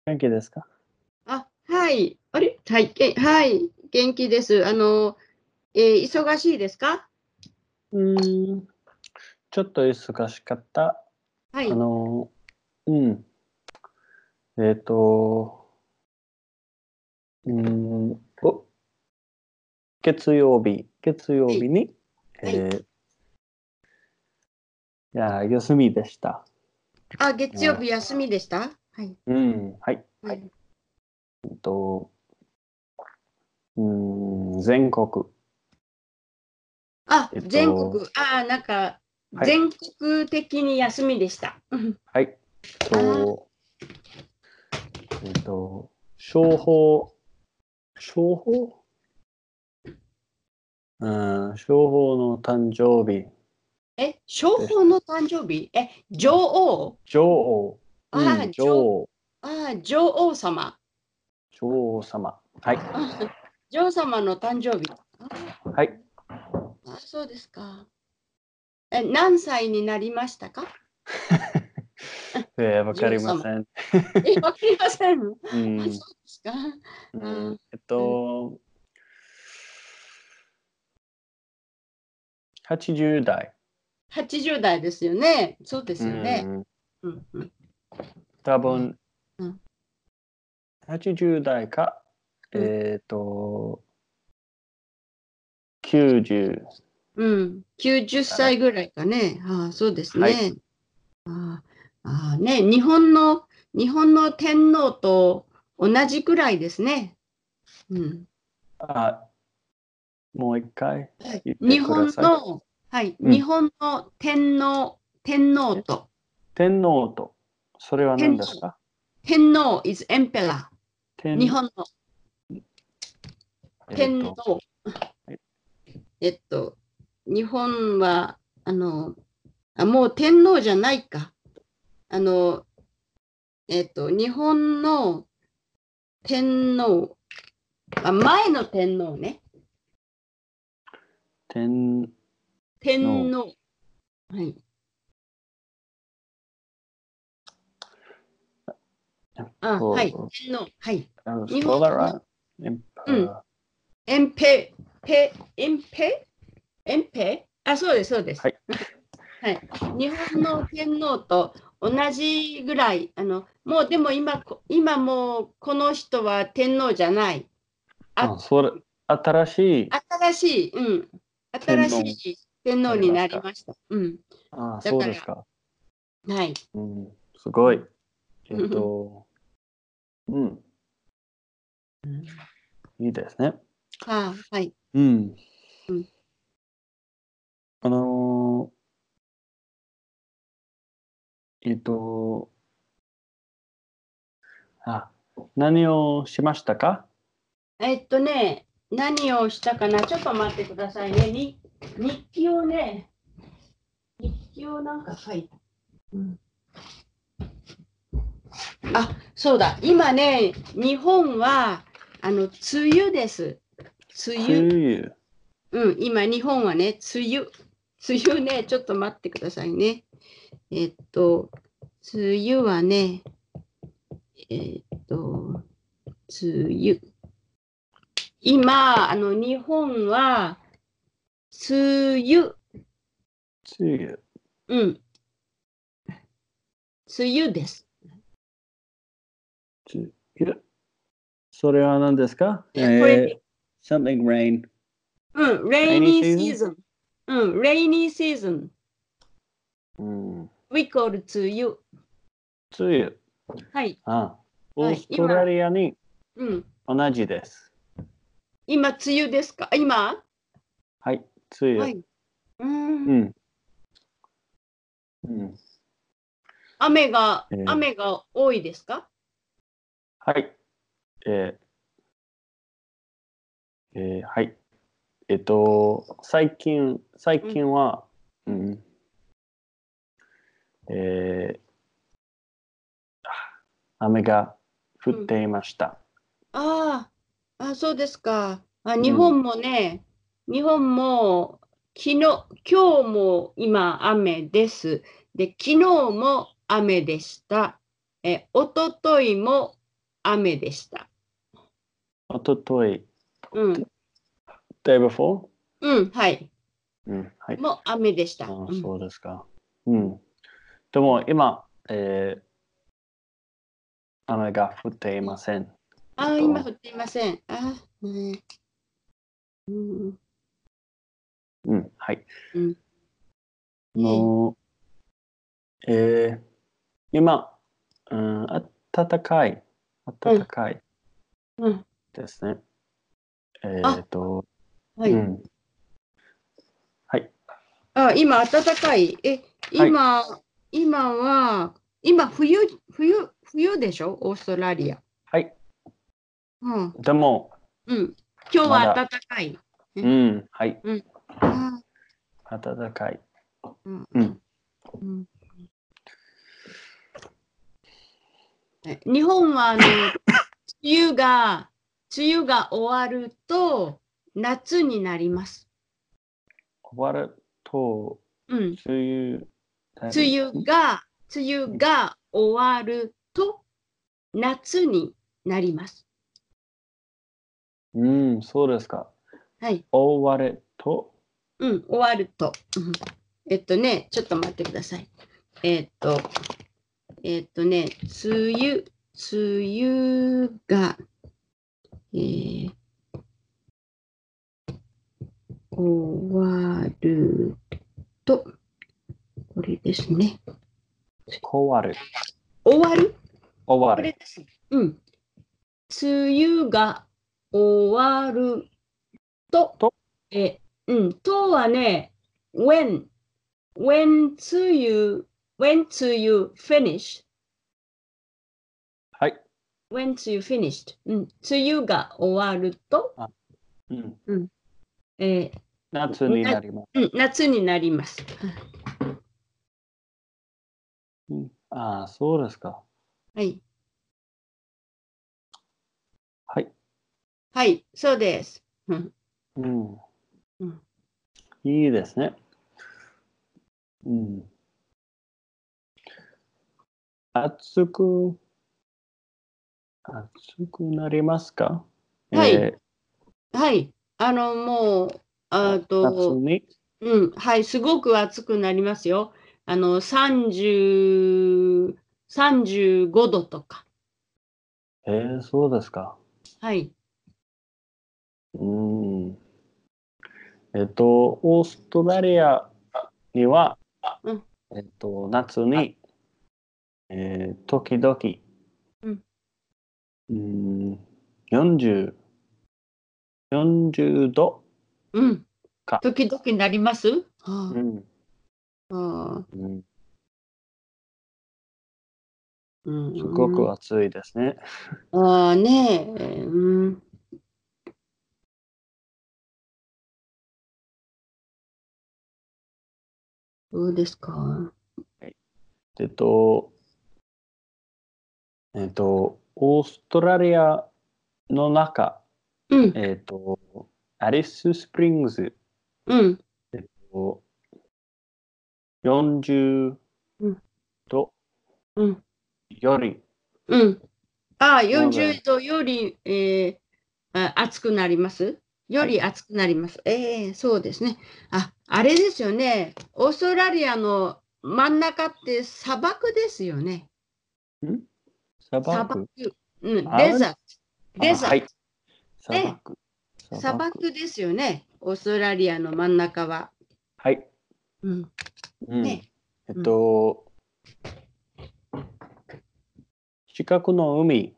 元気ですか？ はい。あれ、はい、はい、元気です。忙しいですか？ うーん、ちょっと忙しかった。あはい。 の、うん、えっと、お、月はい。 曜日に、 はい。 休みでした。 月曜日休みでした？はい。 はい。 はい。 えっと、全国、えっ全国。 と、 なんか、 はい、 全国的に休みでした。 はい、 あと、えっと、商法、商法商法の誕生日商でした。 法の誕生日？女王？ 女王、 あー、女、 女王、 女王様。 女王様。はい。 女王様の誕生日。 はい。 そうですか。何歳になりましたか？ わか女王様。 りません。 わかりません。 うん、 そうですか。 うん、 あ、 えっと、80代。 80代ですよね。そうでうすよね。 ん、 うんうん。あ、 多分、 うん、 80代か、 うん、 90 うん。90 かね。 歳ぐらいかね。そうですはい。 ね。あね、日本の天皇と同じくらいですね。うん。 あ、もう一回はい。 言って日ください。 本の、はい、 うん。 日本の天皇えと、 天皇と、それは天皇、 何ですか？ 天皇 is emperor。日天、 本のえっと、 天皇。 はいえっと、日本は、もう天皇じゃないか。あの、日本の天皇、前の天皇ね。 天皇。 天皇。はい。はい。 と、 天皇。はい。日 spell that 本の、 right? うん。エンペ、エンペ、エンペそうです、そうです。 はい。 はい。日本の天皇と同じぐらい、もうでも今もうこの人は天皇じゃない。あ、 それ、新しい新しい、うん。新し天皇い天あ皇になりますか？ りました。うん。だから、 そうですか。 はい。 すごい。 うん。 えっと、うん、いいですね。 はい。 うん。 うん。 あのえっと、あ、何をしましたか？ 何をしたかな、ちょっと待ってくださいね。日記をね、日記をなんか書いた。うん、そうだ。今ね、日本は、梅雨です。梅梅雨。 雨。 今、日本はね、梅雨。梅雨ね、ちょっと待ってくださいね。梅雨はね、梅雨。今、日本は、梅雨。 梅雨。 うん、梅雨です。 梅雨。それは何ですか？ これね、 something rain. Rainy rainy season? season。rainy season。 うん。 We call 梅雨。 梅雨。 はい。 オはい。 ーストラリアにうん。 同じです。 今、梅雨ですか？今？ はい、梅雨。 はい。うん。 うん。うん。 雨が、 えー雨が多いですか？ はい。えはい。最うん。 近は、 うん。 えー雨が降っうん。 ていました。 そうですか。 うん。 日本もね、日本も今日も今雨です。で、昨日も雨でした。一昨日も雨でした。 おととい。 うん。 day before? うん、はい。 はい。 もう雨でした。 そうですか。でも今、雨が降っていません。 今降っていません。 はい。 うん今、暖かいですね。 はい。 はい。 今暖かい。今は、冬でしょオーストラリア。 はい。 うん。 でも、 今日は暖かい。 はい。暖かい。 日本は梅雨が終わると夏になります。 終わると、梅雨が終わると夏になります。 そうですか。 はい。 終わると。 終わると。ちょっと待ってください。梅雨が、終わると、これですね。 終わる。 終わるこれです。梅雨が終わると、とはね、when梅雨 finish。 はい。 when 梅雨 finished。梅雨が終わると、 夏になります。 夏になります。 そうですか。 はい。 はい。 はい、そうです。 いいですね。暑くなりますか？ はい。はい。もう、 夏にはい、すごく暑くなりますよ。35度とか。 そうですか。 はい。 オーストラリアには、夏に、時々、40度か。 時々なります。 すごく暑いですね。 そうですか。 オーストラリアの中、アリススプリングス、40度より、 40度より、暑くなりますより暑くなります。そうですね。あれですよね。オーストラリアの真ん中って砂漠ですよね。 砂漠。 デザート。 はい。砂漠ですよね。オーストラリアの真ん中は。 はい。近くの海、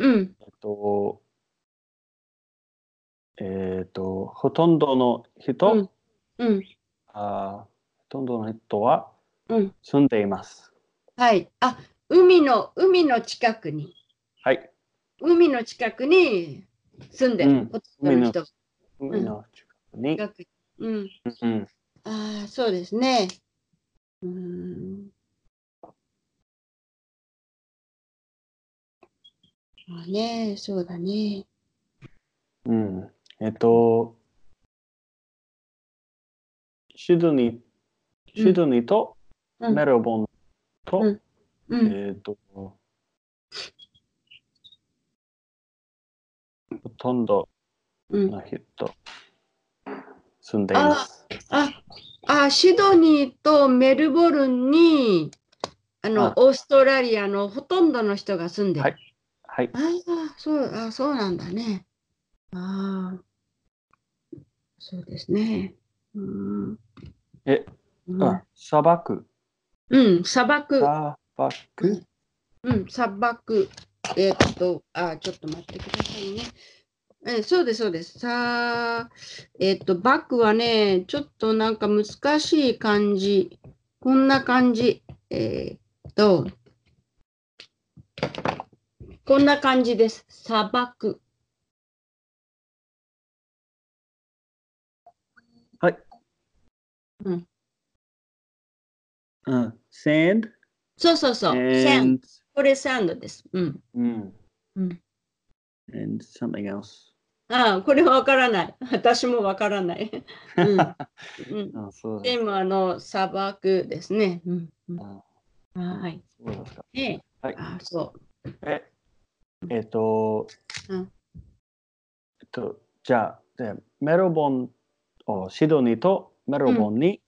ほとんどの人、ほとんどの人は住んでいます。 はい。海の近くに。 はい。 海の近くに住んでる。ほとんどの人。 海の近くに。 そうですね。そうだね。 シドニーとメルボンと、 とんどの人、住んでいます。 シドニーとメルボルンに、オーストラリアのほとんどの人が住んでる。 はい。 そうなんだね。そうですね。 砂漠。 砂漠。砂漠。ちょっと待ってくださいね。そうです、そうです。バックはね、ちょっとなんか難しい感じ。こんな感じ。こんな感じです。砂漠。 はい。sand? そう。sand。これサンドです。 and something else. これはわからない。私もわからない。でも砂漠ですね。はい。 そうですか。 そう。 じゃあ、メルボン、シドニーとメルボンに、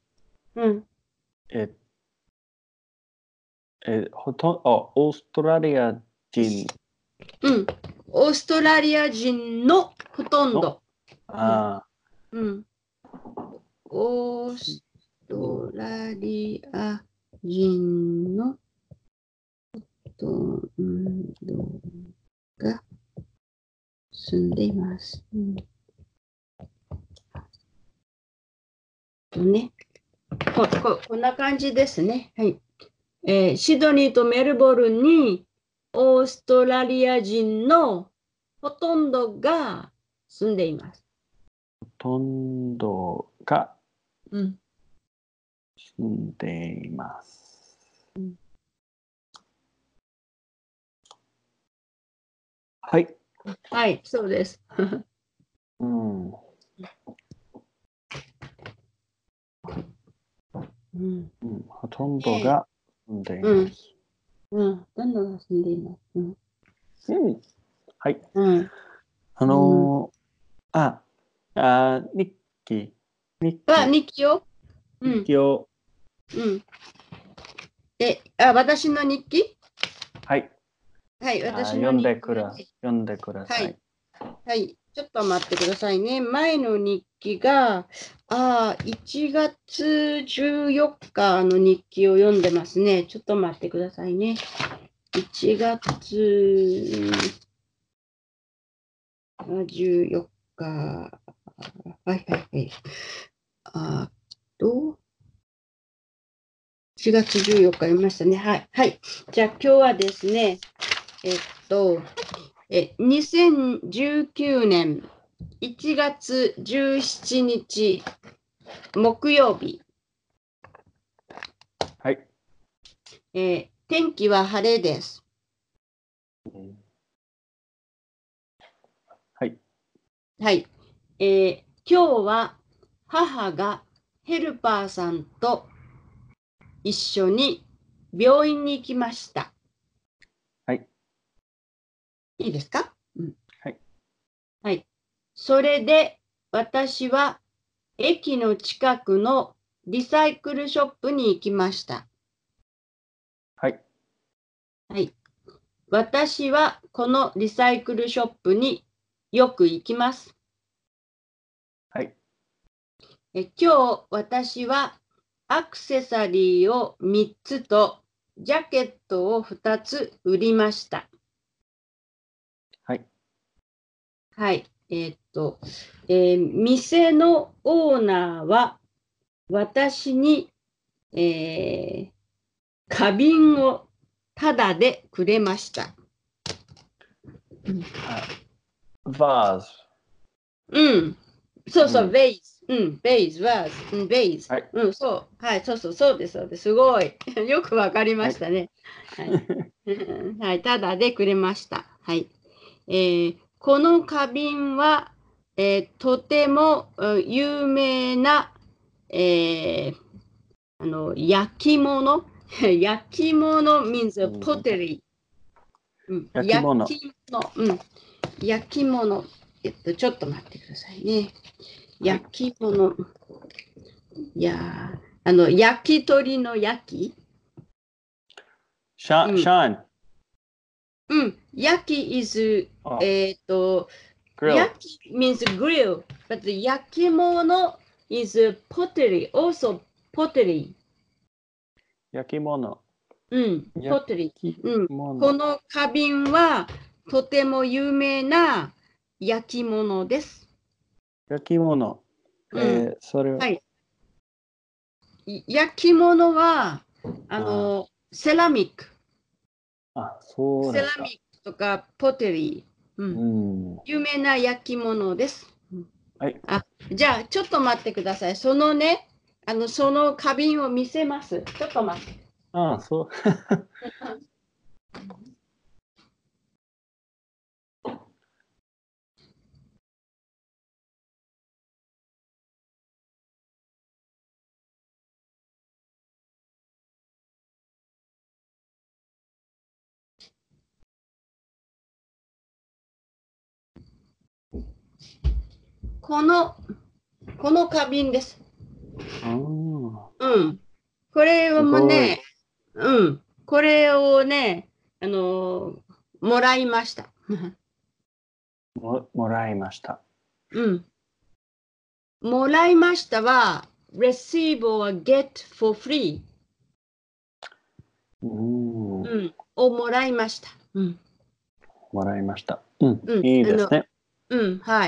オーストラリア人。 オーストラリア人のほとんど。オーストラリア人のほとんどが住んでいます。こんな感じですね。はい。シドニーとメルボルンにオーストラリア人のほとんどが住んでいます。 ほとんどが住んでいます。はい。 はい、そうです。 ほとんどが住んでいます。 ほとんどが住んでいます。 はい。日記。 日記を私の日記はい。 はい、私の読んでください。 はい、ちょっと待ってくださいね。前の日記が、1月14日の日記を読んでますね。ちょっと待ってくださいね。1月14日。はい。4月14日読みましたね。はい。じゃあ今日はですね、2019年1月17日木曜日。 はい。 天気は晴れです。 はい。 今日は母がヘルパーさんと一緒に病院に行きました。 はい。 いいですか？ はい。 それで私は駅の近くのリサイクルショップに行きました。 はい。 私はこのリサイクルショップによく行きます。 はい。 今日私はアクセサリーを3つとジャケットを2つ売りました。はい。店のオーナーは私に、花瓶をタダでくれました。 バーズ。 そう、ベイズ。ベイズ、バーズ。ベイズ。そうです。すごい。よくわかりましたね。はい。タダでくれました。はい。この花瓶は、とても有名な、焼き物焼き物 means pottery。焼き物。 ちょっと待ってくださいね。焼き物。いや焼き鳥の焼き。 シャン。 うん。焼き is、 grill. 焼き means grill, but 焼き物 is pottery, also pottery. 焼き物。 うん、pottery。うん。この花瓶はとても有名な焼き物です。 焼き物。それは。 はい。焼き物は、セラミック。 そうですか。 セラミックとかポテリー。有名な焼き物です。 はい。 じゃあ、ちょっと待ってください。そのね、その花瓶を見せます。ちょっと待って。 そう。 この花瓶です。これもね、これをね、もらいました。 もらいました。 もらいましたは、receive or get for free。をもらいました。 もらいました。いいですね。 はい。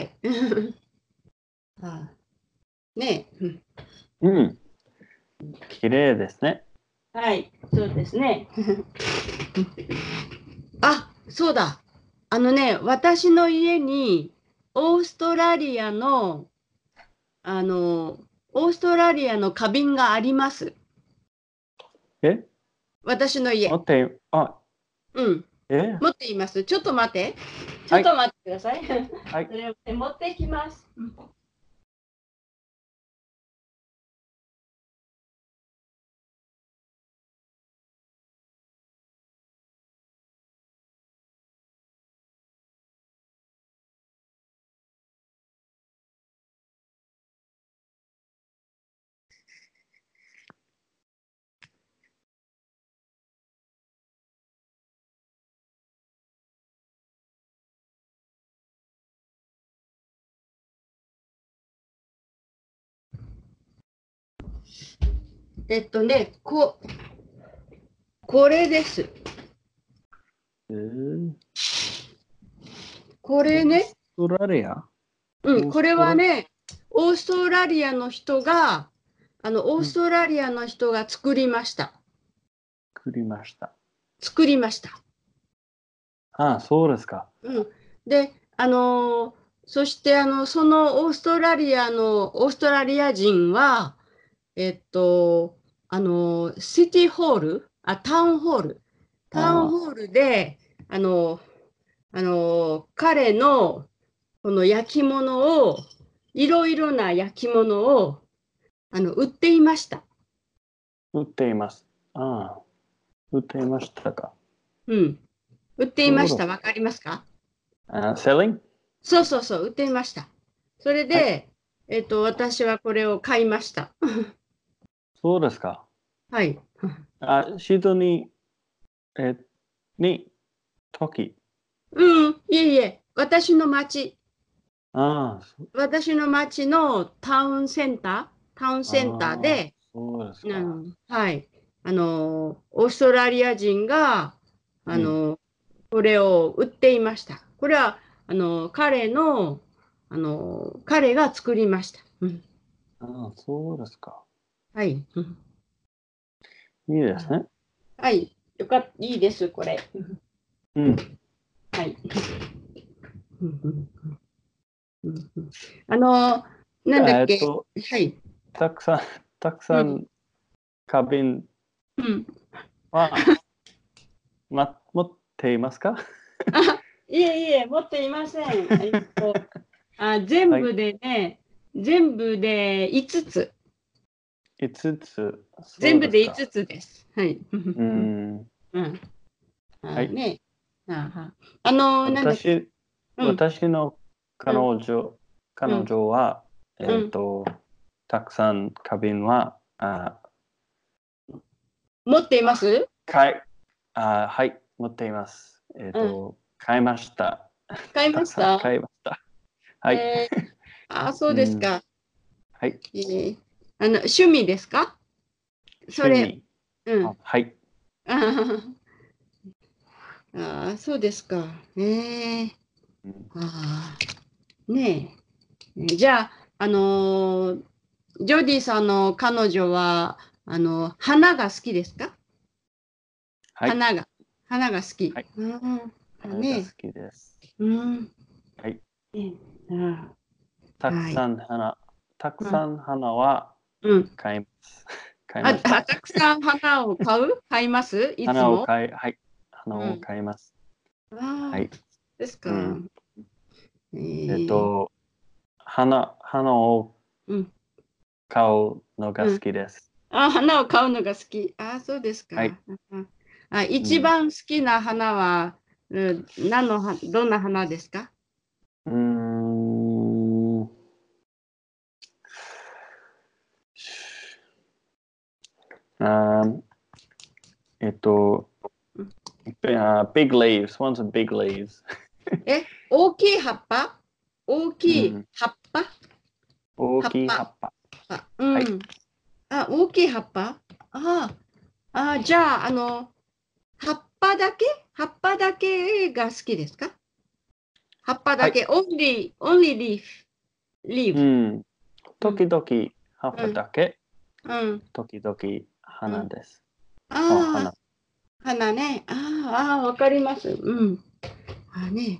ね綺麗ですね。 はい、そうですね。そうだ。私の家にオーストラリアの花瓶があります。私の家。持っています。ちょっと待って。ちょっと待ってください。それを持ってきます。これです。これね。 オーストラリア？ これはね、オーストラリアの人が、作りました。作りました。 そうですか。 で、そして、そのオーストラリア人は、シティホール、タウンホールで、彼のこの焼き物を、いろいろな焼き物を売っていました。 売っています。売っていましたか。 売っていました。わかりますか ？selling？ そう、売っていました。それで、私はこれを買いました。 そうですか。 はい。 シドニー、時。 いえ、私の町のタウンセンターで、 そうですか。 はい。オーストラリア人が、これを売っていました。これは、彼が作りました。 そうですか。 はい。 いいですね。 はい。いいです、これ。はい。なんだっけ。はい。 たくさん花瓶は、持っていますか？ いえ、持っていません。全部で5つ。 5つ。 全部で5つです。はい。 はい。 なんだっけ。 私の彼女は、たくさん花瓶は、 持っています？ はい、持っています。買いました。 買いました？ 買いました。はい。 そうですか。 はい。 趣味ですか？それ。 はい。 そうですか。ねえ。じゃあ、ジョディさんの彼女は、花が好きですか？ はい。 花が好き。 はい。花が好きです。はい。たくさん花は買います。買いました。 たくさん花を買いますいつも？ はい。花を買います。はい。 ですか。 花を買うのが好きです。 花を買うのが好き。そうですか。 はい。 一番好きな花は、どんな花ですか？ big leaves. One's a big leaves. 大きい葉っぱ？大きい葉っぱ？ 大きい葉っぱ。 はい。大きい葉っぱ？じゃあ、葉っぱだけが好きですか？葉っぱだけ、only leaf。 時々葉っぱだけ、時々花です。花。 花ね。わかります。ね。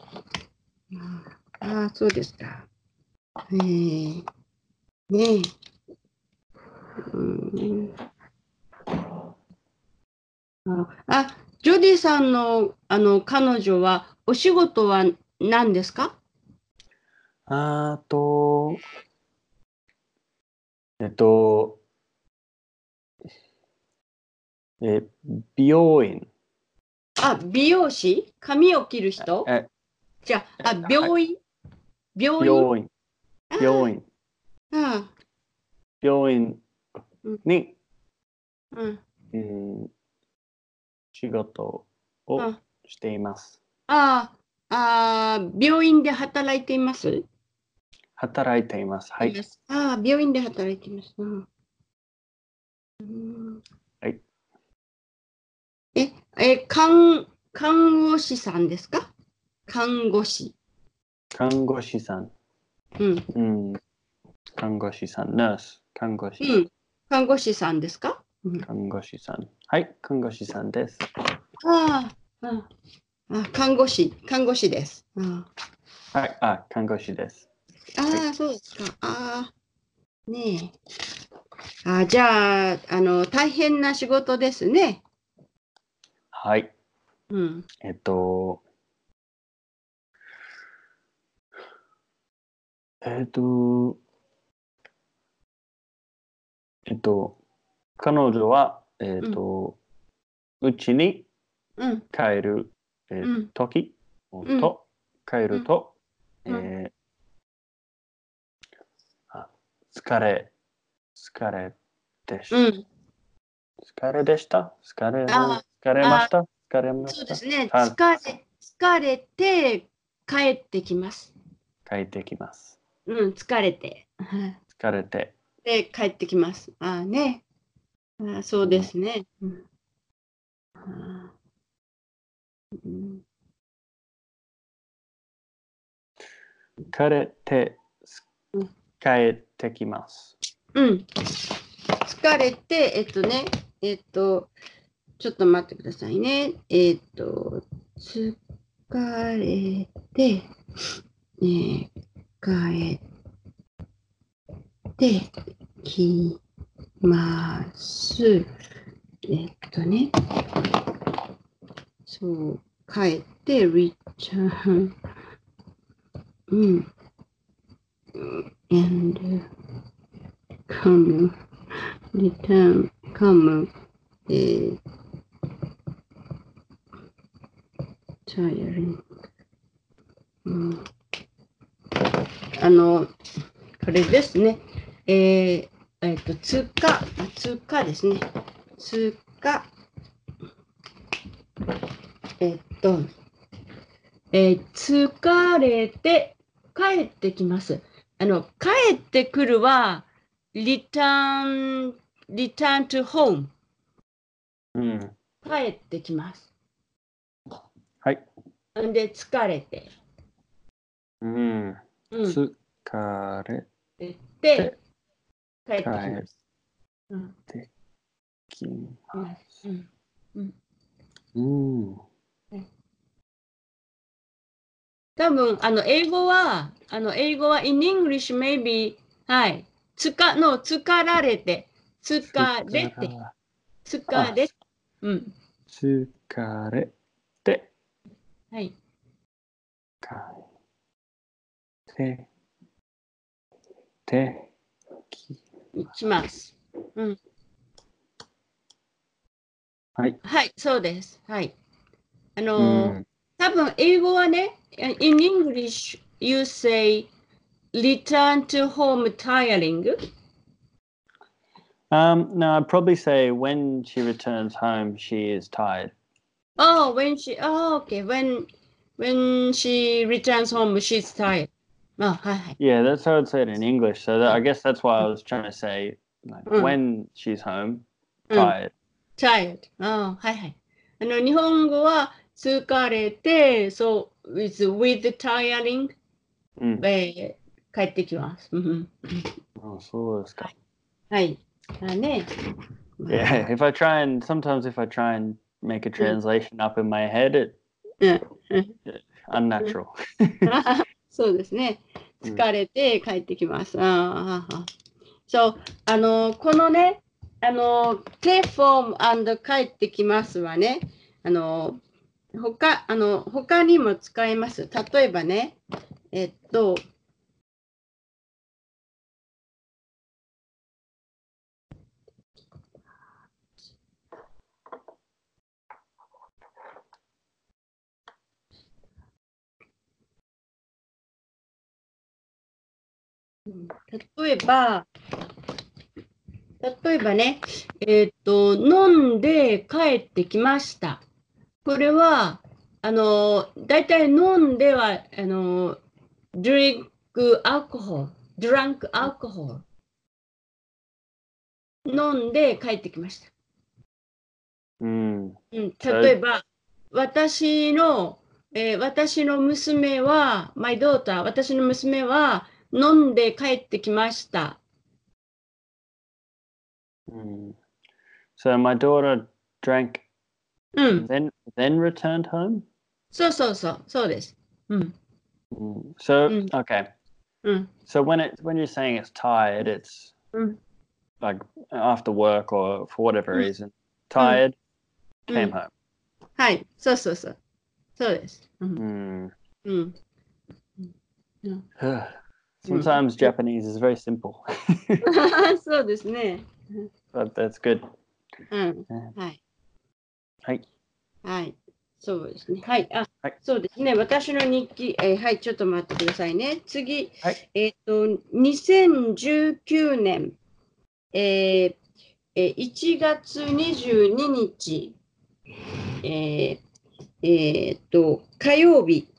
そうですか。ねえ。ジョディさんの、彼女は、お仕事は何ですか？ あと、えっと、美容院。 美容師？髪を切る人？じゃあ、病院？病院？ 病院に、仕事をしています。 病院で働いています？ 働いています。はい。 病院で働いています。 はい。 看護師さんですか？看護師。 看護師さん。看護師さん。ナース。看護師。 看護師さんですか？ 看護師さん。はい、看護師さんです。 看護師です。 はい、看護師です。 そうですか。ねえ。じゃあ、大変な仕事ですね。 はい。彼女は、うちに帰る、時と、帰ると、疲れでし疲れでした疲れましたそうですね。疲れて帰ってきます。 帰ってきます。 疲れて。 疲れて。 で、帰ってきます。ね。そうですね。 疲れて、帰ってきます。 疲れて、ちょっと待ってくださいね。疲れて、帰ってきます。そう、帰って、return, and come, return, come, tiring. これですね。通過ですね。通過。疲れて帰ってきます。帰ってくるは、return to home。帰ってきます。 はい。 で、疲れて。 疲れて、帰ってきます。 てきます。 多分、英語は、in English maybe、はい。疲れて、疲れて、疲れ、 疲れて、 はい。きます。 はい。 はい、そうです。はい。多分、英語はね、in English, you say, return to home tiring. No, I'd probably say when she returns home, she is tired. Okay. When she returns home, she's tired. Yeah, that's how I'd say it in English. So I guess that's why I was trying to say, when she's home, tired. Tired. はいはい。日本語は疲れて、with tiring、帰ってきます。 そうですか。 はい。 Yeah, sometimes if I try and make a translation up in my head, unnatural. そうですね。疲れて帰ってきます。そう、このね、stay home and 帰ってきますはね、他にも使えます。例えばね、例えばね、飲んで帰ってきました。これは、だいたい飲んでは、drank alcohol。飲んで帰ってきました。例えば、私の娘は、my daughter、私の娘は飲んで帰ってきました。 So my daughter drank, then returned home? そうです。 So, okay. So when you're saying it's tired, it's like after work or for whatever reason, tired, came home. はい、そうです。 Sometimes Japanese is very simple. そうですね。 But that's good. はい。 はい。 はい。そうですね。はい。そうですね。私の日記、はい、ちょっと待ってくださいね。次、2019年、1月22日、火曜日。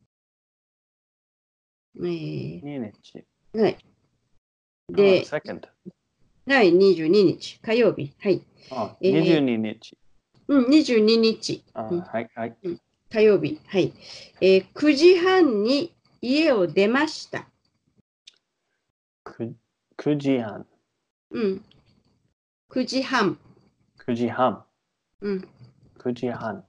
2日。 はい。で、はい、22日、火曜日。はい。 22日。 22日。 はいはい。 火曜日。はい。9時半に家を出ました。 9時半。 9時半。 9時半。 9時半。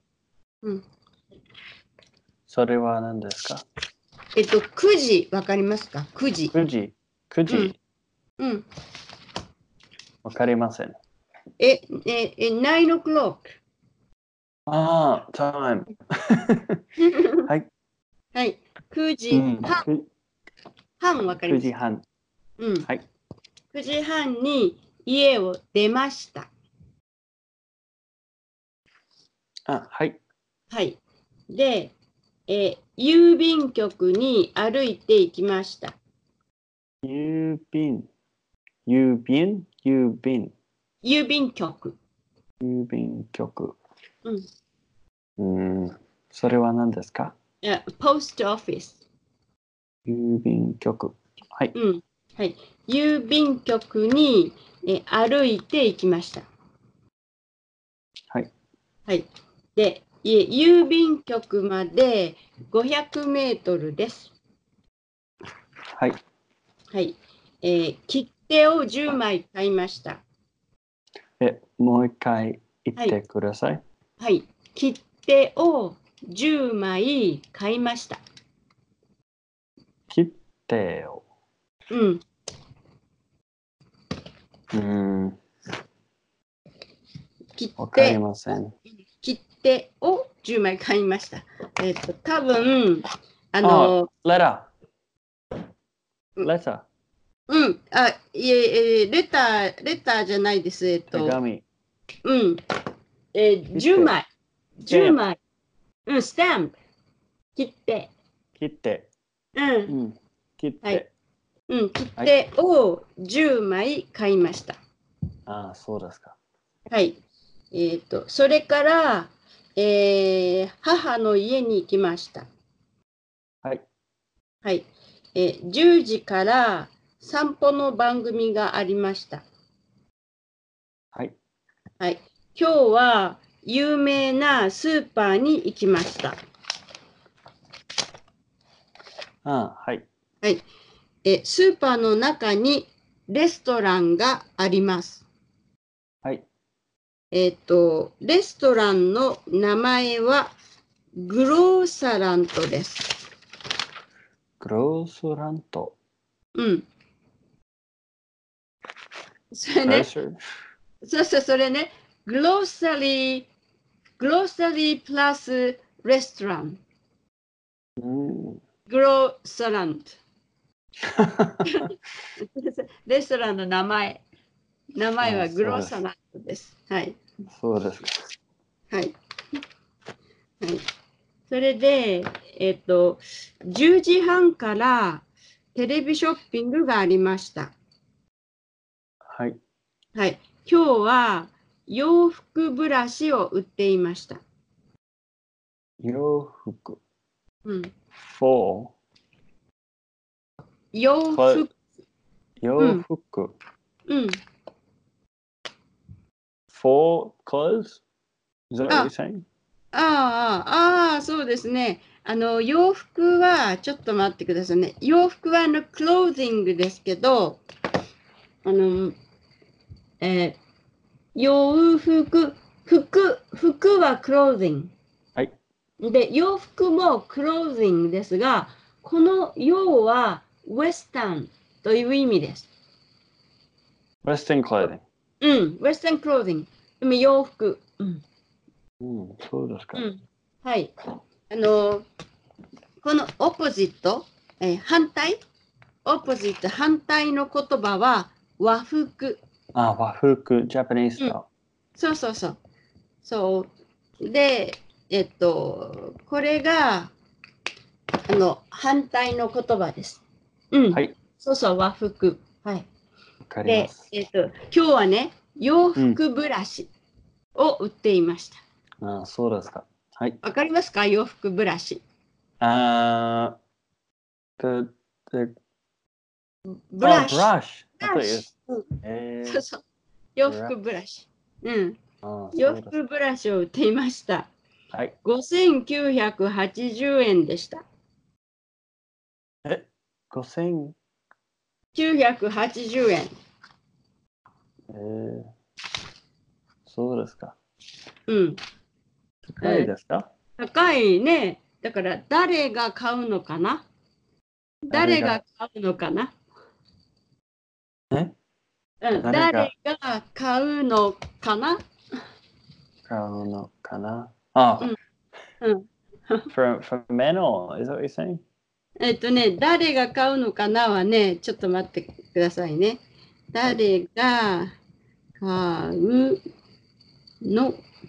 それは何ですか ？9時、わかりますか？ 9 時。 9時。9時。わかりません。 9 o'clock。 time。はい。 はい。9時半。半わかります。 9時半。はい。 9時半に家を出ました。 はい。 はい。で、郵便局に歩いて行きました。 郵便。郵便郵便。 郵便局。 郵便局。 うん。 それは何ですか？ ポストオフィス。 郵便局。はい。 うん。はい。郵便局に歩いて行きました。 はい。 はい。で、郵便局まで500メートルです。 はい。 はい。切手を10枚買いました。 もう一回言ってください。 はい。切手を10枚買いました。 切手を。 うん。 わかりません。 切手を10枚買いました。多分、 レター。 うん。レターじゃないです。 手紙。 うん。10枚。10枚。うん、スタンプ。切手。 切手。 うん。 切手。 はい。うん、切手を10枚買いました。 ああ、そうですか。 はい。それから、母の家に行きました。 はい。 はい。10時から散歩の番組がありました。 はい。 はい。今日は有名なスーパーに行きました。 はい。 はい。スーパーの中にレストランがあります。 はい。 レストランの名前はグローサラントです。 グロースラント。 うん。それね。それね。グローサリープラスレストラン。グローサラント。レストランの名前はグローサラントです。はい。 そうですか。 はい。はい。それで、10時半からテレビショッピングがありました。 はい。 はい。今日は洋服ブラシを売っていました。 洋服。 うん。 洋服。洋服。 うん。 for clothes? Is that what you're saying? そうですね。洋服は、ちょっと待ってくださいね。洋服はクロージングですけど、洋服、服はクロージング。 はい。 で、洋服もクロージングですが、この洋はウエスタンという意味です。 Western clothing。 うん、ウエスタンクロージング。でも洋服。 そうですか。 はい。このオポジット、反対の言葉は和服。 和服、ジャパニーズだ。 そう。で、これが、反対の言葉です。 はい。 和服。はい。 わかります。 今日はね、洋服ブラシを売っていました。 そうですか。はい。 わかりますか？洋服ブラシ。 ブラシ。 洋服ブラシ。洋服ブラシを売っていました。はい。5980円でした。5980円。 そうですか。 高いですか？高いね。だから誰が買うのかな？誰が買うのかな？誰が買うのかな？ 買うのかな？For men or is that what you're saying? 誰が買うのかなはね、ちょっと待ってくださいね。誰が買うの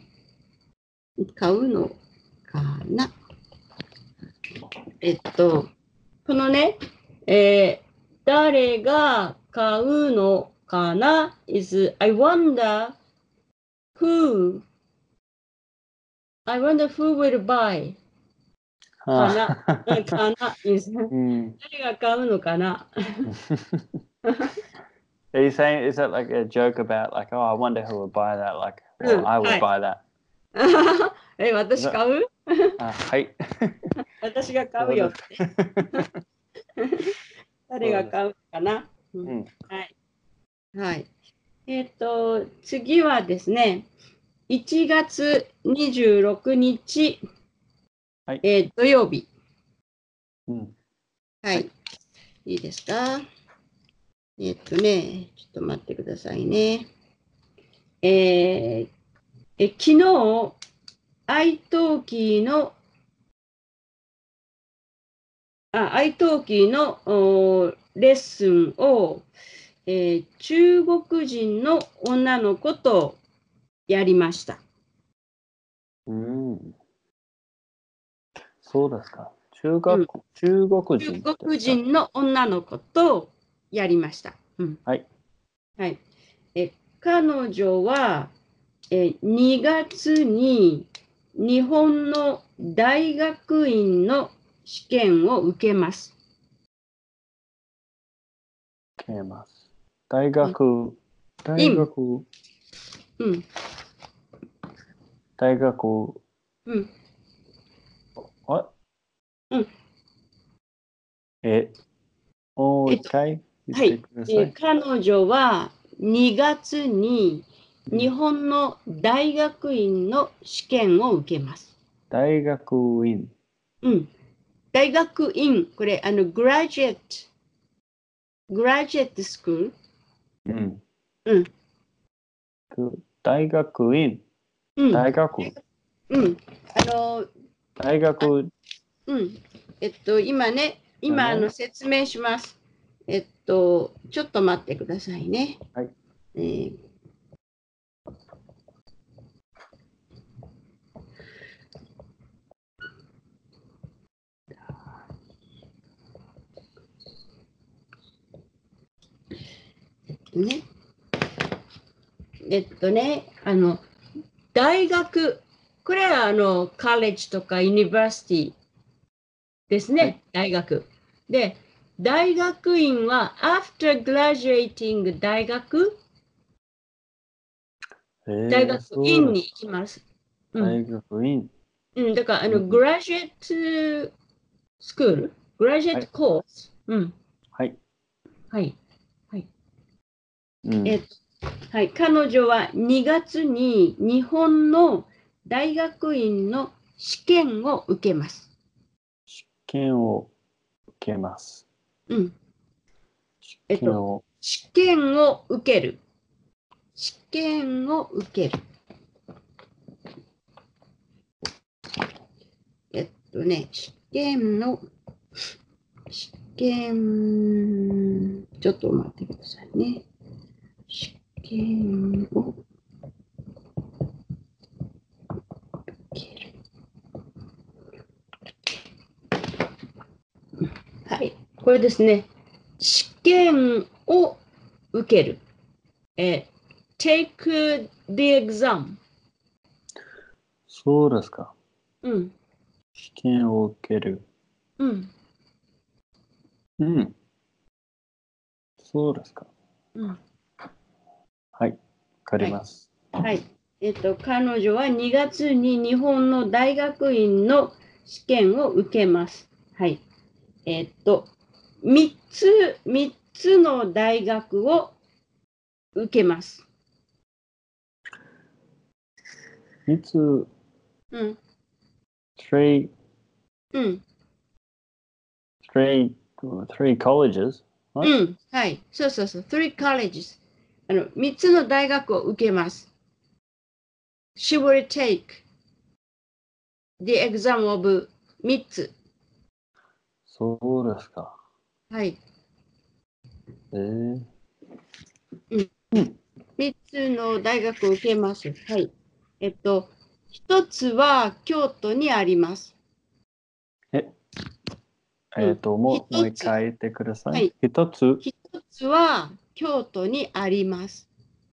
かな？このね、 誰が買うのかな is I wonder who will buy かなかな is 誰が買うのかな Are you saying, is that like a joke about like, oh, I wonder who would buy that? Like, or I would buy that. 私買うはい。 私が買うよって。誰が買うかな、はい。はい。次はですね、1月26日、 はい土曜日。 はい。 いいですか？ちょっと待ってくださいね。昨日、愛登記のレッスンを、中国人の女の子とやりました。 そうですか。中国人の女の子とやりました。 はい。 はい。彼女は、2月に日本の大学院の試験を受けます。 大学うんあもう一回言ってください。彼女は2月に日本の大学院の試験を受けます。 大学院。 大学院、これ、グラジュエットスクール。 大学院。大学。大学。 今説明します。ちょっと待ってくださいね。 はい。 大学、これはカレッジとかユニバーシティですね、大学。で、大学院は after graduating 大学院に行きます。 大学院。 だから、グラジュエットスクール、グラジュエットコース。 はい。 はい。はい。彼女は2月に日本の大学院の試験を受けます。 試験を受けます。 試験を受ける。試験を受ける。試験、ちょっと待ってくださいね。試験を受ける。はい、これですね。試験を受ける。take the exam。 そうですか。試験を受ける。そうですか。はい。わかります。 はい。彼女は2月に日本の大学院の試験を受けます。はい。3つの大学を受けます。 3つ。three colleges? はい。そう。three colleges。3つの大学を受けます。She will take the exam of 3つ。 そうですか。 はい。3つの大学を受けます。はい。1つは京都にあります。 もう一回言ってください。 はい、 一つは京都にあります。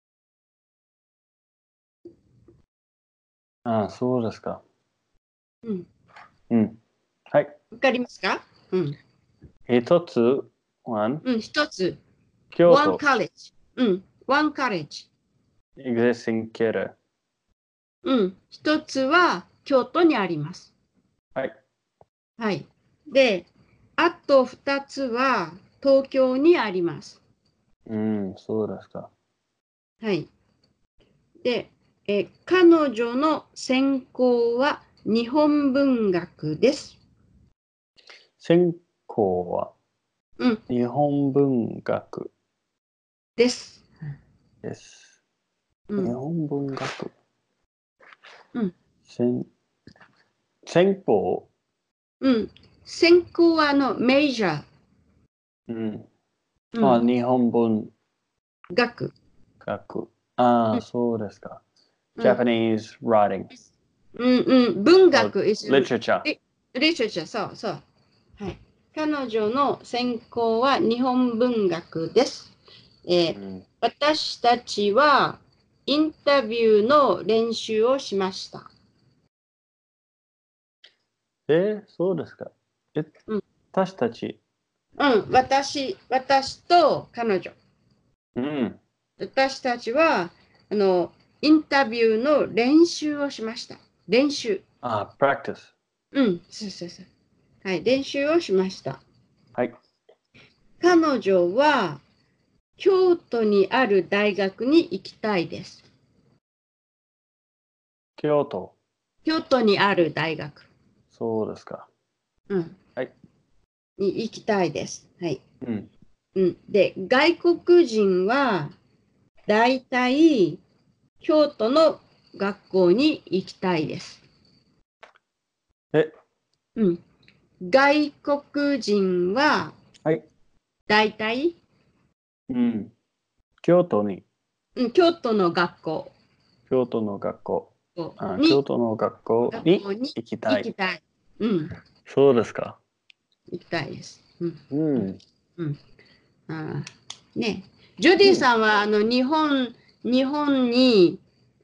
ああ、そうですか。 うん。 うん。はい。 わかりますか？うん。 一つ、one。 うん、一つ。 京都。 one college。うん。one college。 exists in Kyoto。 うん。一つは京都にあります。 はい。 はい。で、あと二つは東京にあります。 うん、そうですか。 はい。で、彼女の専攻は日本文学です。 専攻は日本文学です。 です。 うん、 日本文学。 うん、 専攻。 うん。専攻はメジャー。 うん。 うん、 日本文学。 学。ああ、そうですか。 うん、 Japanese writing。 うんうん、文学 is literature。 literature、そうそう。はい。彼女の専攻は日本文学です。私たちはインタビューの練習をしました。 そうですか。 うん、 私たち。 うん、私と彼女。 うん。 私たちはインタビューの練習をしました。練習。 practice。 うん、そうそうそう。はい、練習をしました。 はい。 彼女は京都にある大学に行きたいです。 京都。 京都にある大学。 そうですか。 うん。 はい。 に行きたいです。はい。 うん。 うん。で、外国人はだいたい京都の学校に行きたいです。うん。外国人ははい。 だいたいうん。京都に。 京都の学校京都の学校。 に京都の学校に行きたい。 うん。 そうですか。 行きたいです。うん。 うん。 うん。ね。ジョディさんは日本に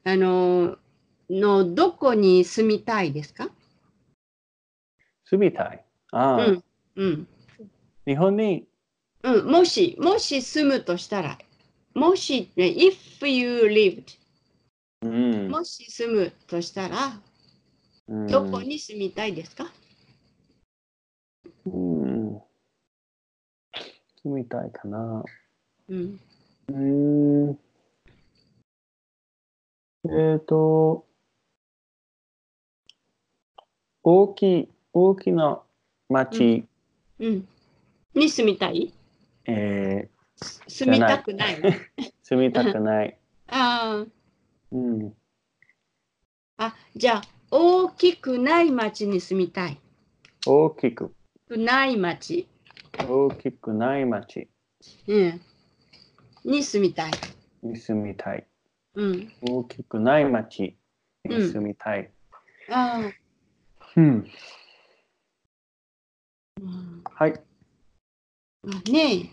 どこに住みたいですか？ 住みたい。 うん。うん。 日本に。 うん。もし住むとしたら、もし、ね、if you lived、もし住むとしたら、どこに住みたいですか？ 住みたいかな。 うん。 大きな町、 に住みたい？住みたくない。 住みたくない。 じゃあ、大きくない町に住みたい。 大きくない町。 大きくない町に住みたい。 に住みたい。 大きくない町に住みたい。はい。 ね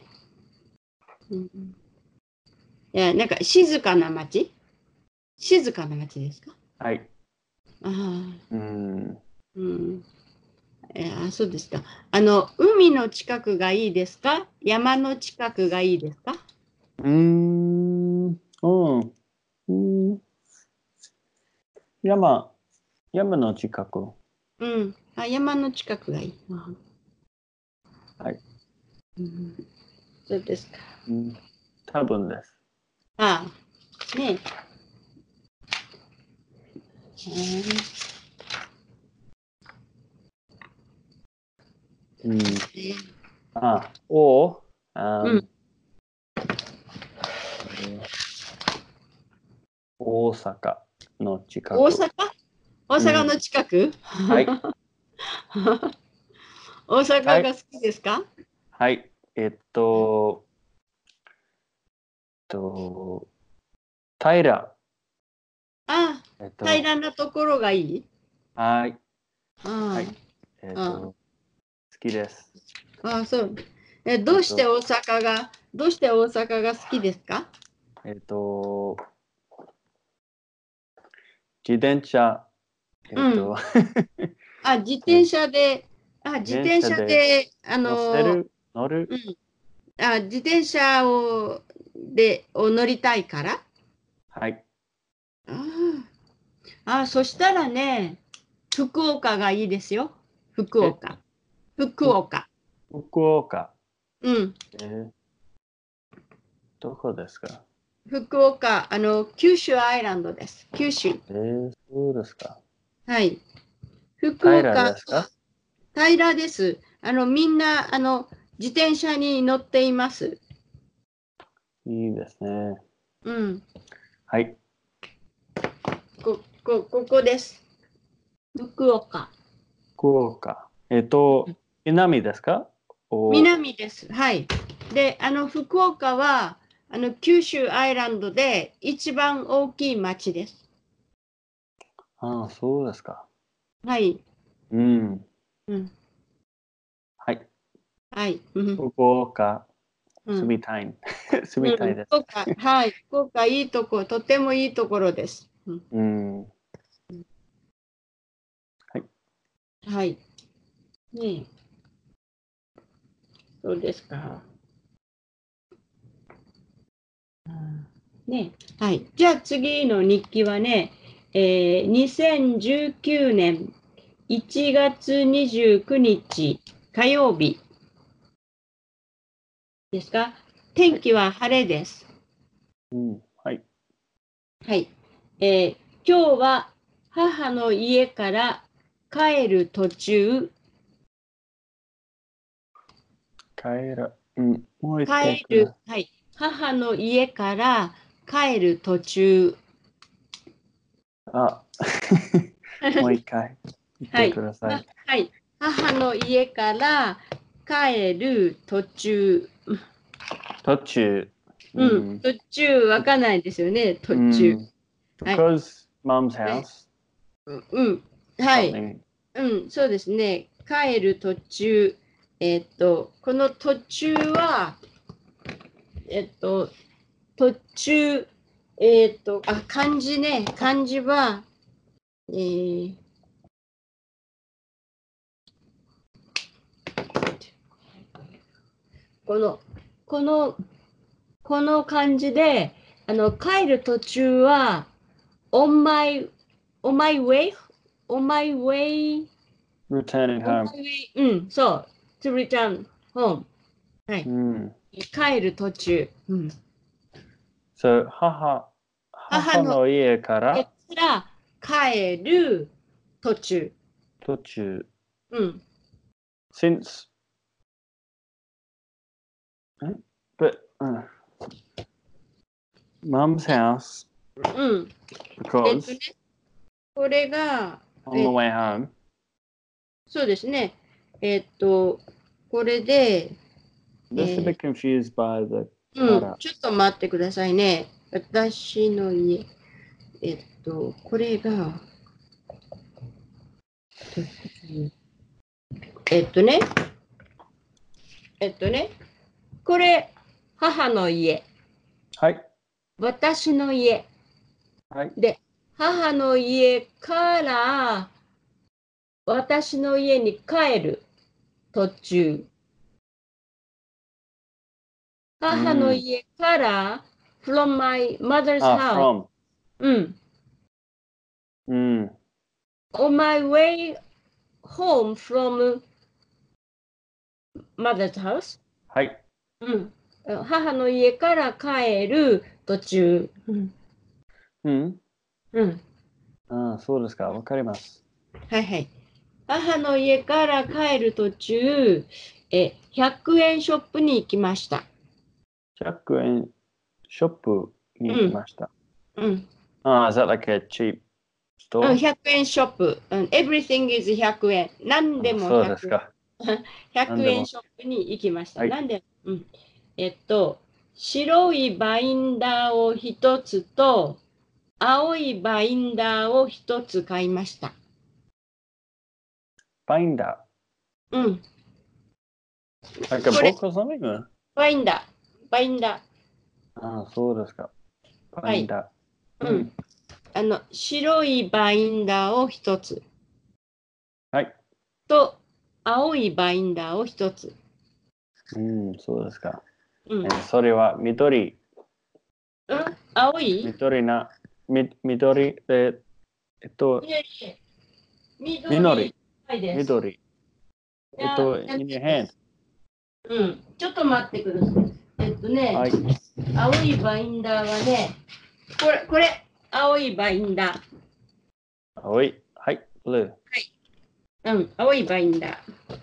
え。なんか静かな町ですか？ はい。 そうですか。海の近くがいいですか？山の近くがいいですか？ 山の近く。 山の近くがいい。 はい。 そうですか。 多分です。 ね大阪の近く。 大阪の近く、 はい。 大阪が好きですか？ はい。平。 平らなところがいい？ はい。はい。好きです。 あ、そう。どうして大阪が好きですか？ 自転車、 自転車で、 乗る。 自転車を乗りたいから。 はい。 そしたらね、福岡がいいですよ。福岡。福岡。 福岡。 うん。 どこですか？ 福岡、九州アイランドです。九州。 そうですか。 はい。福平岡、 ですか？ 平らです。みんな、自転車に乗っています。 いいですね。 うん。 はい。 ここです。福岡。 福岡。南ですか？ 南です。はい。で、福岡は、九州アイランドで一番大きい町です。 ああ、そうですか。 はい。 うん。 うん。 はい。 はい。 福岡、住みたい。住みたいです。 福岡、はい。福岡、いいとこ、とてもいいところです。 うん。はい。 はい。ねそうですか。ねはい。じゃあ次の日記はね、2019年1月29日火曜日ですか？天気は晴れです。 うん。はい。 はい。今日は母の家から帰る途中、 もう一回ください。 はい。母の家から帰る途中。 あ、もう一回言ってください。 はい。母の家から帰る途中。 途中。 途中わかんないですよね、途中。はい。 Because mom's house. はい。そうですね。帰る途中。この途中は、途中、漢字ね。漢字は、この、この、この漢字で、帰る途中は、on my way? on my way? Returning on home. my way? そう。to return home. はい。帰る途中。 So, 母の母の家から家から帰る途中。 途中。Since, but, mom's house, because これが、 on the way home. そうですね。これで、 Just a bit confused by the ちょっと待ってくださいね。私の家。これが、ね。これ、母の家。 はい。 私の家。 はい。 で、母の家から私の家に帰る途中。母の家から from my mother's house. from. On my way home from mother's house. はい。 母の家から帰る途中。 そうですか。わかります。 はいはい。母の家から帰る途中、100円ショップに行きました。 100円ショップに行きました。is that like a cheap store? 100円ショップ。everything is 100円。何でもそうですか。 100円ショップに行きました。なんで、白いバインダーを一つと、青いバインダーを一つ買いました。 バインダー Like a book or something? バインダー。バインダー。ああ、そうですか。バインダー。うん。白いバインダーを一つ。 はい。 と、青いバインダーを一つ。 うん、そうですか。 うん。 それは緑。 うん、青い緑、 いえいえ、 緑。 です。 緑。in your hand. うん、ちょっと待ってください。 はい。 青いバインダーはね、これ、青いバインダー。 青い。はい、blue。 はい。うん、青いバインダー。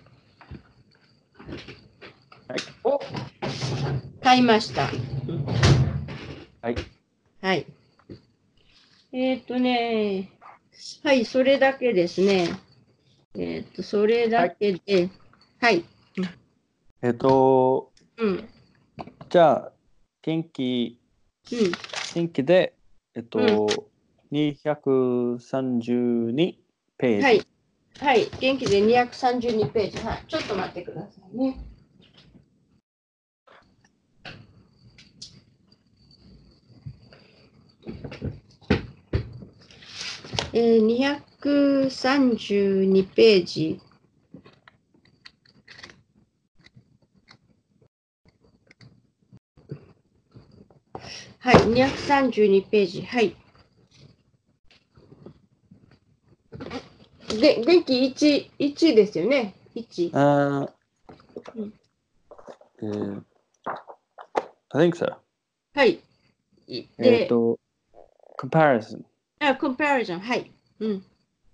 はい。 を買いました。 はい。 はい。はい、それだけですね。それだけで、はい。うん。 じゃあ、天気で、232ページ。 はい。はい。元気で232ページ。はい。ちょっと待ってくださいね。232ページ。はい、232ページ。はい。で、元気1ですよね。1。 I think so. はい。 で、comparison。 comparison。はい。うん。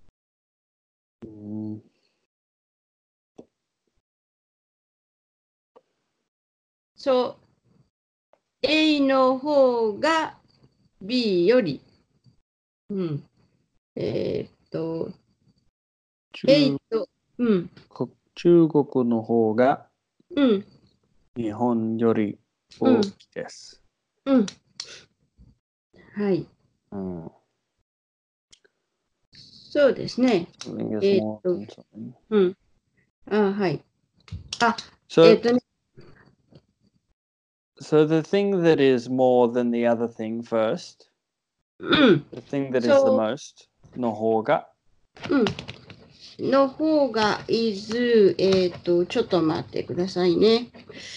そう。A の方が B より。うん。A と、うん。 中国の方がうん。 日本より大きいです。 うん。はい。 うん。 そうですね。うん。はい。 So the thing that is more than the other thing first, the thing that is the most の方が、 の方が is、ちょっと待ってくださいね。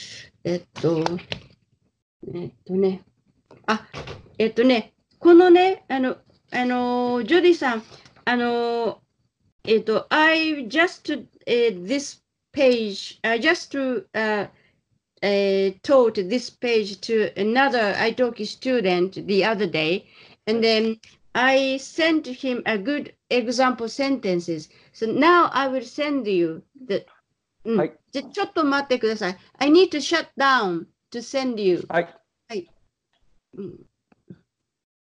このね、ジョディさん、I just this page, I just taught this page to another italki student the other day, and then I sent him a good example sentences. So now I will send you the. はい。じゃちょっと待ってください。I need to shut down to send you. はい。 はい。うん